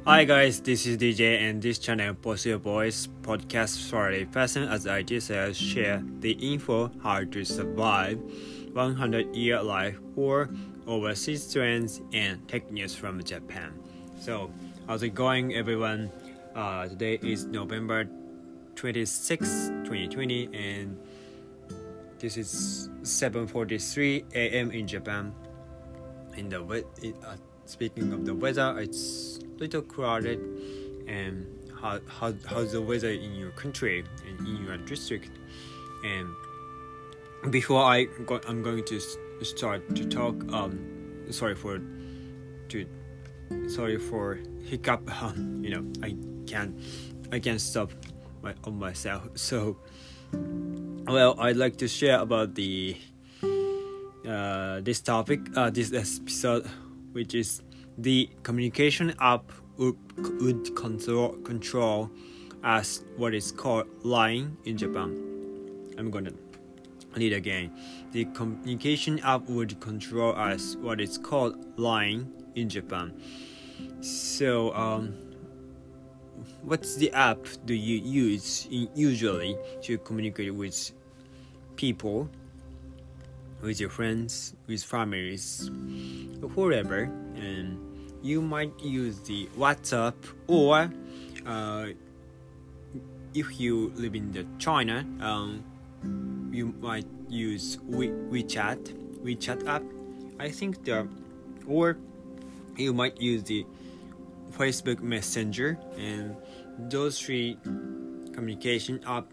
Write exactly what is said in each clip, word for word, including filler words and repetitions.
Hi guys, this is D J and this channel posts your voice podcast for a person as I just uh, share the info how to survive one hundred year life or overseas trends and tech news from Japan. So how's it going everyone? Uh, today is November twenty-sixth, twenty twenty and this is seven forty-three a.m. in Japan. In the uh, speaking of the weather, it's little crowded. And how, how how's the weather in your country and in your district? And before I go, I'm going to start to talk. Um, sorry for to sorry for hiccup. Um, you know I can't I can't stop my on myself. So well, I'd like to share about the uh, this topic, uh, this episode, which is the communication app would, would control, control as what is called Line in Japan. I'm gonna read again. The communication app would control as what is called Line in Japan. So, um, what's the app do you use in, usually to communicate with people, with your friends, with families, whoever? And you might use the WhatsApp, or uh, if you live in the China, um, you might use We- WeChat, WeChat app. I think the, or you might use the Facebook Messenger, and those three communication app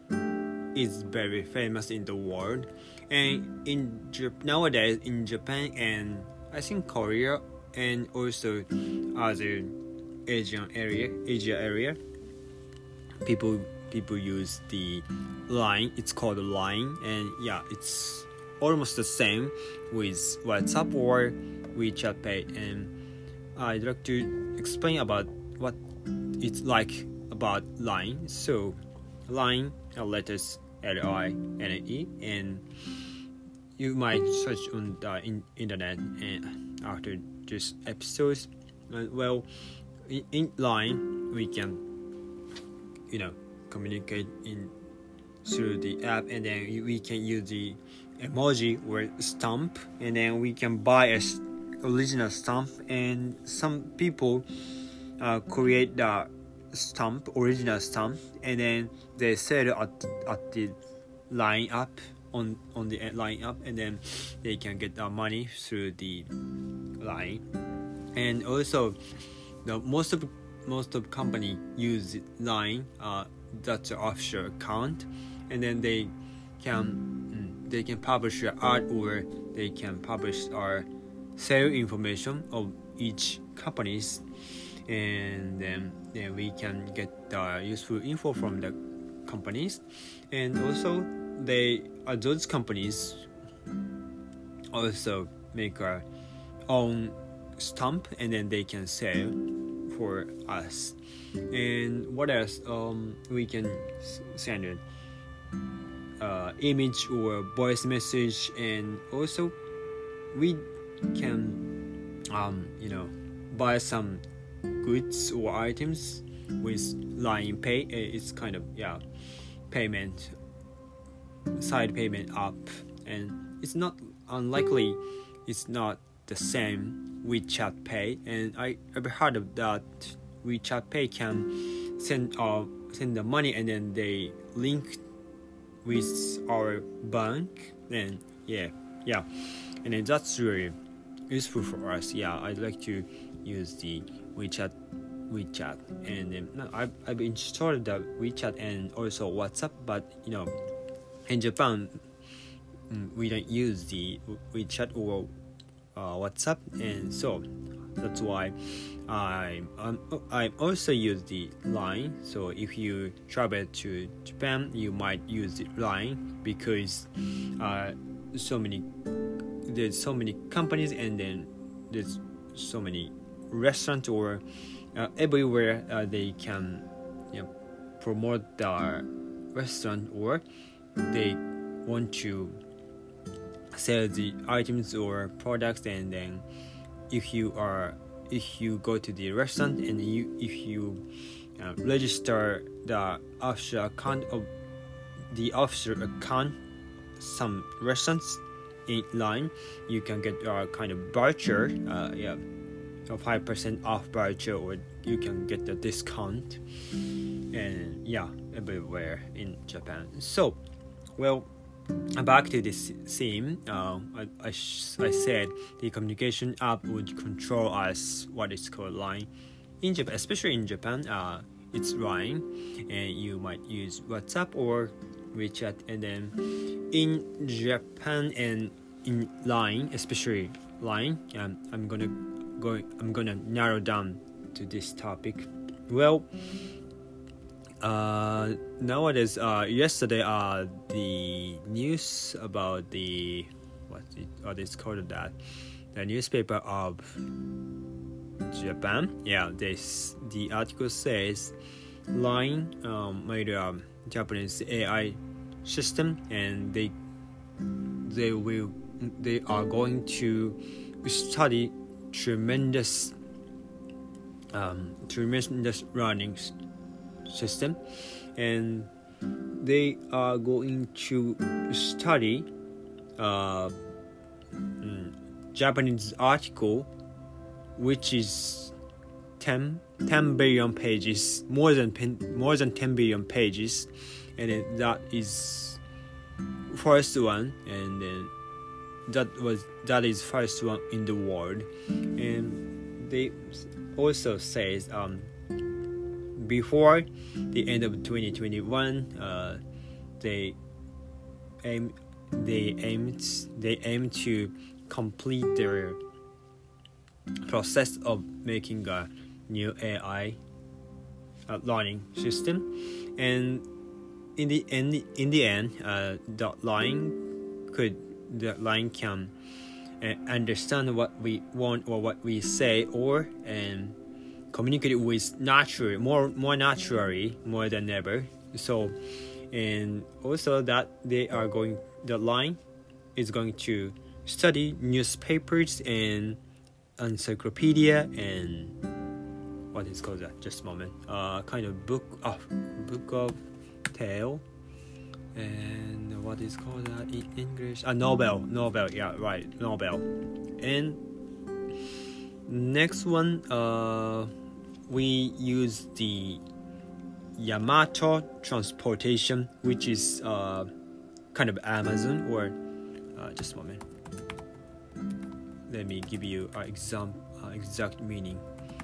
is very famous in the world. And in nowadays in Japan and I think Korea and also other Asian area, Asia area, people people use the Line. It's called Line, and yeah, it's almost the same with WhatsApp or WeChat Pay. And I'd like to explain about what it's like about Line. So Line, uh, letters L I N E, and you might search on the in- internet and after this episode. Uh, well, in, in Line we can, you know, communicate in through the app, and then we can use the emoji or stamp, and then we can buy a original stamp, and some people uh, create the stamp, original stamp, and then they sell it at, at the Line app, on on the Line app, and then they can get uh, money through the Line. And also the most of most of company use Line, uh, that's an offshore account, and then they can mm, they can publish your art, or they can publish our sale information of each companies, and then, then we can get uh, useful info from the companies. And also they uh, those companies also make our own stamp, and then they can sell for us. And what else? Um, we can send it uh, image or voice message, and also we can um, you know buy some goods or items with Line Pay. It's kind of yeah payment side payment app, and it's not unlikely it's not the same WeChat Pay. And I ever heard of that WeChat Pay can send uh send the money, and then they link with our bank, and yeah yeah and then that's really useful for us. Yeah, I'd like to use the WeChat WeChat and um, no, I've, I've installed the WeChat and also WhatsApp, but you know in Japan mm, we don't use the WeChat or uh, WhatsApp, and so that's why I um, I also use the Line. So if you travel to Japan, you might use the Line, because uh, so many there's so many companies, and then there's so many restaurants, or uh, everywhere uh, they can, you know, promote their restaurant, or they want to sell the items or products. And then if you are if you go to the restaurant and you if you uh, register the official account of the official account some restaurants in line, you can get a kind of voucher, uh, yeah, a five percent off voucher, or you can get the discount, and yeah, everywhere in Japan. So, well, back to this theme, uh, I, I, sh- I said the communication app would control us, what is called Line. In Japan, especially in Japan, uh, it's Line, and you might use WhatsApp or WeChat, and then in Japan and in Line, especially Line, um, I'm gonna go. I'm gonna narrow down to this topic. Well, uh, nowadays, uh, yesterday, uh, the news about the what it, what is called that, the newspaper of Japan. Yeah, this the article says Line um, made a Japanese A I system, and they they will they are going to study tremendous um, tremendous learning system, and they are going to study uh, mm, Japanese article, which is ten billion pages, more than more than ten billion pages, and then that is first one, and then that was that is first one in the world. And they also says um before the end of twenty twenty-one, uh, they aim they aim they aim to complete their process of making a new A I uh, learning system, and in the end, in the end, uh, the line could the line can uh, understand what we want or what we say, or and communicate with naturally, more more naturally, more than ever. So, and also that they are going, the line is going to study newspapers and encyclopedia and what is called that? Just a moment. Uh, kind of book of book of tale, and what is called that in English? A novel, novel. Yeah, right, novel. And next one, uh, we use the Yamato transportation, which is uh kind of Amazon, or uh, just a moment. Let me give you an exam, uh, exact meaning.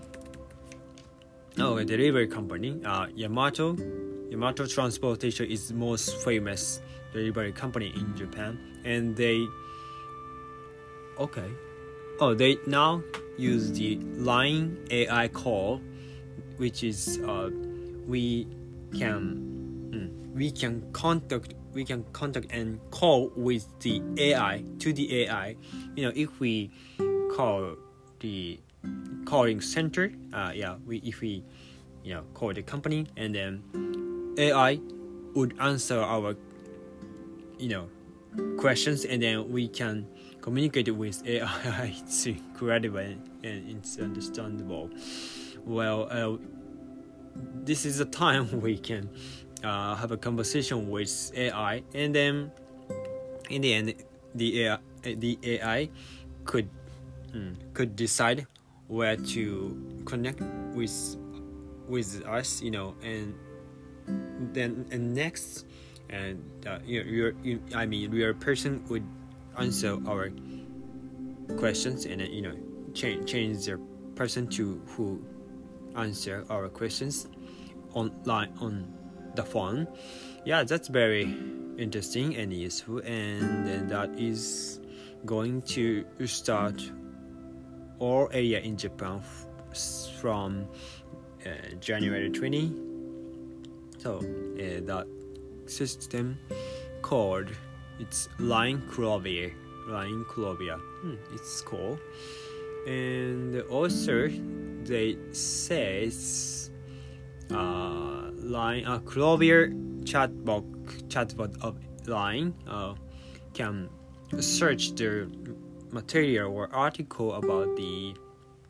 Oh, a delivery company. Uh, Yamato, Yamato Transportation is the most famous delivery company in Japan, and they. Okay. Oh, they now use the Line A I call, which is uh, we can mm, we can contact. We can contact and call with the A I to the A I. You know, if we call the calling center, uh, yeah, we if we, you know, call the company, and then A I would answer our, you know, questions, and then we can communicate with A I. It's incredible and it's understandable. Well, uh, this is a time we can. Uh, have a conversation with A I, and then in the end, the A I, the A I could mm, could decide where to connect with with us, you know, and then and next, and uh, your your you, I mean your person would answer our questions, and then, you know, change change their person to who answer our questions online on the phone. Yeah, that's very interesting and useful, and then that is going to start all area in Japan f- from uh, January twentieth. So uh, that system called, it's Line Clover. Line Clover. Hmm, it's cool. And also they says uh Line, uh, Clover chatbot chatbot of Line uh, can search the material or article about the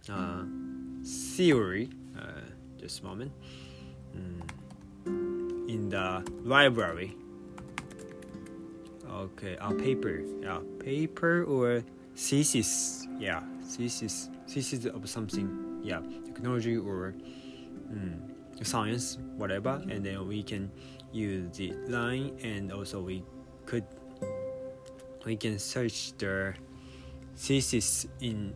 uh, theory. Uh, just a moment. Mm. In the library. Okay, a paper. Yeah, paper or thesis. Yeah, thesis. Thesis of something. Yeah, technology or mm, science, whatever. And then we can use the line, and also we could we can search the thesis in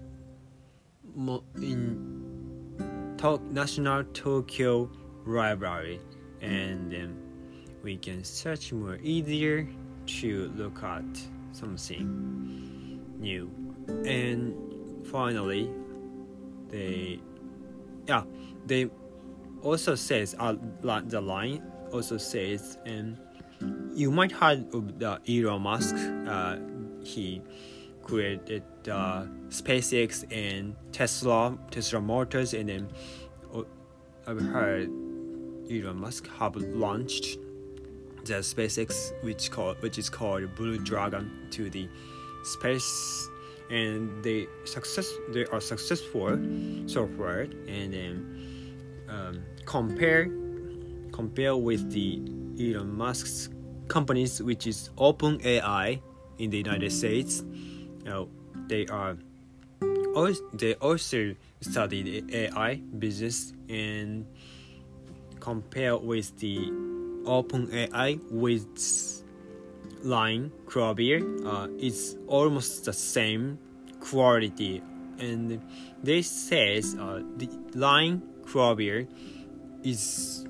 in to- National Tokyo Library, and then we can search more easier to look at something new. And finally, they yeah they also says uh, the line also says, and you might have of the Elon Musk. Uh, he created uh, SpaceX and Tesla, Tesla Motors, and then uh, I've heard Elon Musk have launched the SpaceX, which called which is called Blue Dragon, to the space, and they success they are successful so far. And then um, compare compare with the Elon Musk's companies, which is OpenAI in the United States. You know, they are also, they also study the A I business, and compare with the OpenAI with Line Clover, uh, it's almost the same quality, and they says uh, the Line Clover is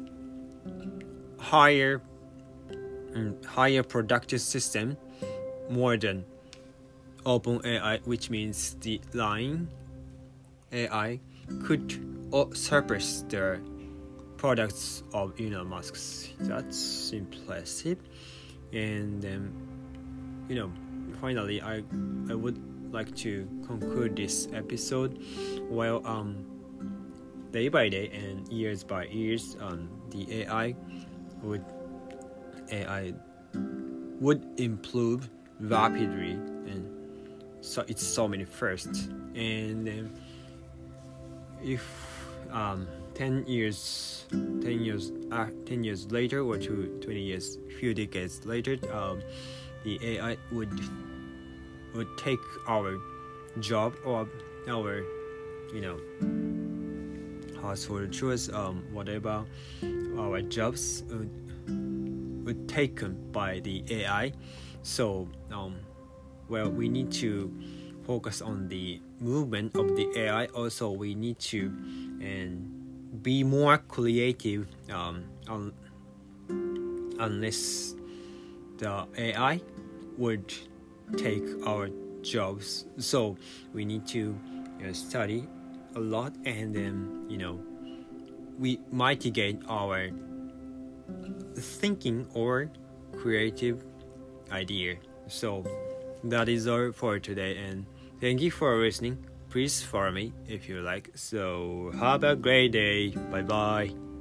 higher um, higher productive system more than OpenAI, which means the Line A I could surpass the products of Elon Musk's. That's impressive. And then, you know, finally, I I would like to conclude this episode. Well, um, day by day and years by years, um, the A I would A I would improve rapidly, and so it's so many firsts. And um, if um. ten years ten years uh, ten years later, or two, twenty years, few decades later, um, the A I would would take our job, or our, you know, household chores, um, whatever, our jobs would, would taken by the A I. So um, well, we need to focus on the movement of the A I. Also, we need to and be more creative, um, un- unless the A I would take our jobs. So we need to, you know, study a lot, and then, you know, we mitigate our thinking or creative idea. So that is all for today, and thank you for listening. Please follow me if you like. So have a great day. Bye bye.